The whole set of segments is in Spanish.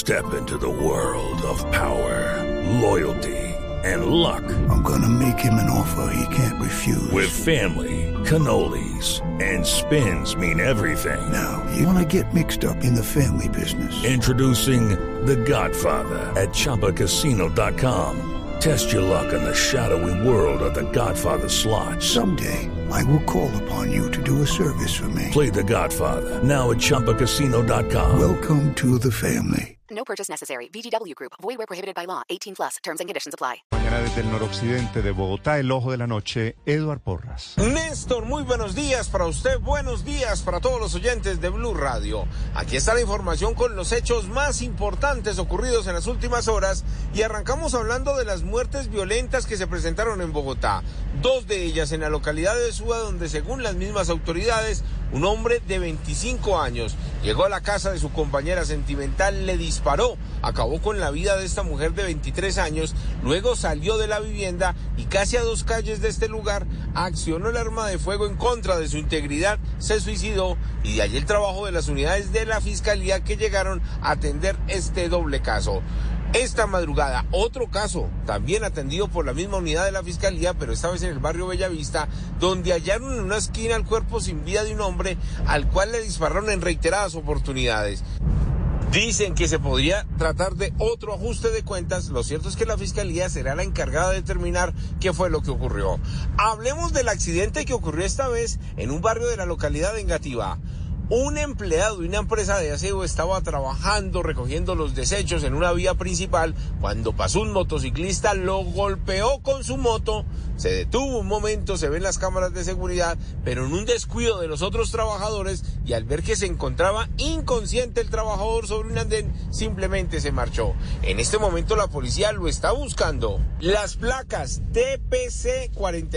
Step into the world of power, loyalty, and luck. I'm gonna make him an offer he can't refuse. With family, cannolis, and spins mean everything. Now, you wanna get mixed up in the family business. Introducing The Godfather at ChumbaCasino.com. Test your luck in the shadowy world of The Godfather slot. Someday, I will call upon you to do a service for me. Play The Godfather now at ChumbaCasino.com. Welcome to the family. No purchase necessary. VGW Group. Void where prohibited by law. 18 plus. Terms and conditions apply. Mañana desde el noroccidente de Bogotá, el ojo de la noche, Eduard Porras. Néstor, muy buenos días para usted, buenos días para todos los oyentes de Blue Radio. Aquí está la información con los hechos más importantes ocurridos en las últimas horas y arrancamos hablando de las muertes violentas que se presentaron en Bogotá. 2 de ellas en la localidad de Suba, donde según las mismas autoridades, un hombre de 25 años llegó a la casa de su compañera sentimental, le disparó, acabó con la vida de esta mujer de 23 años, luego salió de la vivienda y casi a 2 calles de este lugar accionó el arma de fuego en contra de su integridad, se suicidó y de allí el trabajo de las unidades de la Fiscalía que llegaron a atender este doble caso. Esta madrugada, otro caso, también atendido por la misma unidad de la Fiscalía, pero esta vez en el barrio Bellavista, donde hallaron en una esquina el cuerpo sin vida de un hombre al cual le dispararon en reiteradas oportunidades. Dicen que se podría tratar de otro ajuste de cuentas. Lo cierto es que la Fiscalía será la encargada de determinar qué fue lo que ocurrió. Hablemos del accidente que ocurrió esta vez en un barrio de la localidad de Engativá. Un empleado de una empresa de aseo estaba trabajando recogiendo los desechos en una vía principal cuando pasó un motociclista, lo golpeó con su moto, se detuvo un momento, se ven las cámaras de seguridad, pero en un descuido de los otros trabajadores y al ver que se encontraba inconsciente el trabajador sobre un andén, simplemente se marchó. En este momento la policía lo está buscando. Las placas TPC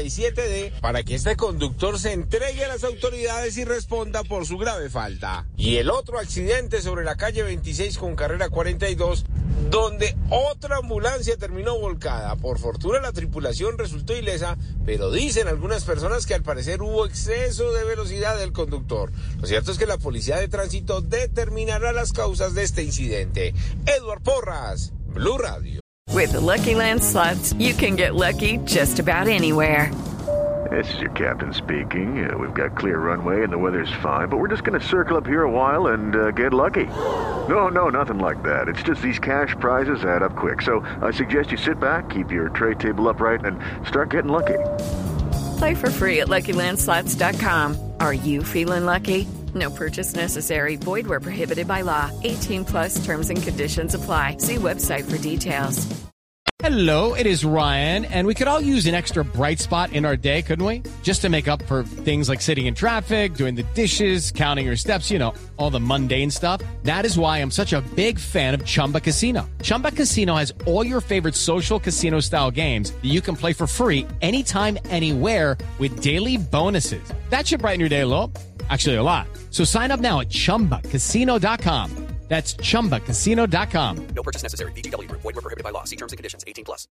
47D para que este conductor se entregue a las autoridades y responda por su grave falta. Y el otro accidente sobre la calle 26 con carrera 42, donde otra ambulancia terminó volcada. Por fortuna la tripulación resultó ilesa, pero dicen algunas personas que al parecer hubo exceso de velocidad del conductor. Lo cierto es que la policía de tránsito determinará las causas de este incidente. Eduard Porras, Blue Radio. With the Lucky Land Slots, you can get lucky just about anywhere. This is your captain speaking. We've got clear runway and the weather's fine, but we're just going to circle up here a while and get lucky. No, nothing like that. It's just these cash prizes add up quick. So I suggest you sit back, keep your tray table upright, and start getting lucky. Play for free at LuckyLandSlots.com. Are you feeling lucky? No purchase necessary. Void where prohibited by law. 18 plus terms and conditions apply. See website for details. Hello, it is Ryan, and we could all use an extra bright spot in our day, couldn't we? Just to make up for things like sitting in traffic, doing the dishes, counting your steps, you know, all the mundane stuff. That is why I'm such a big fan of Chumba Casino. Chumba Casino has all your favorite social casino-style games that you can play for free anytime, anywhere with daily bonuses. That should brighten your day a little. Actually, a lot. So sign up now at ChumbaCasino.com. That's ChumbaCasino.com. No purchase necessary. VGW Group. Void where prohibited by law. See terms and conditions. 18 plus.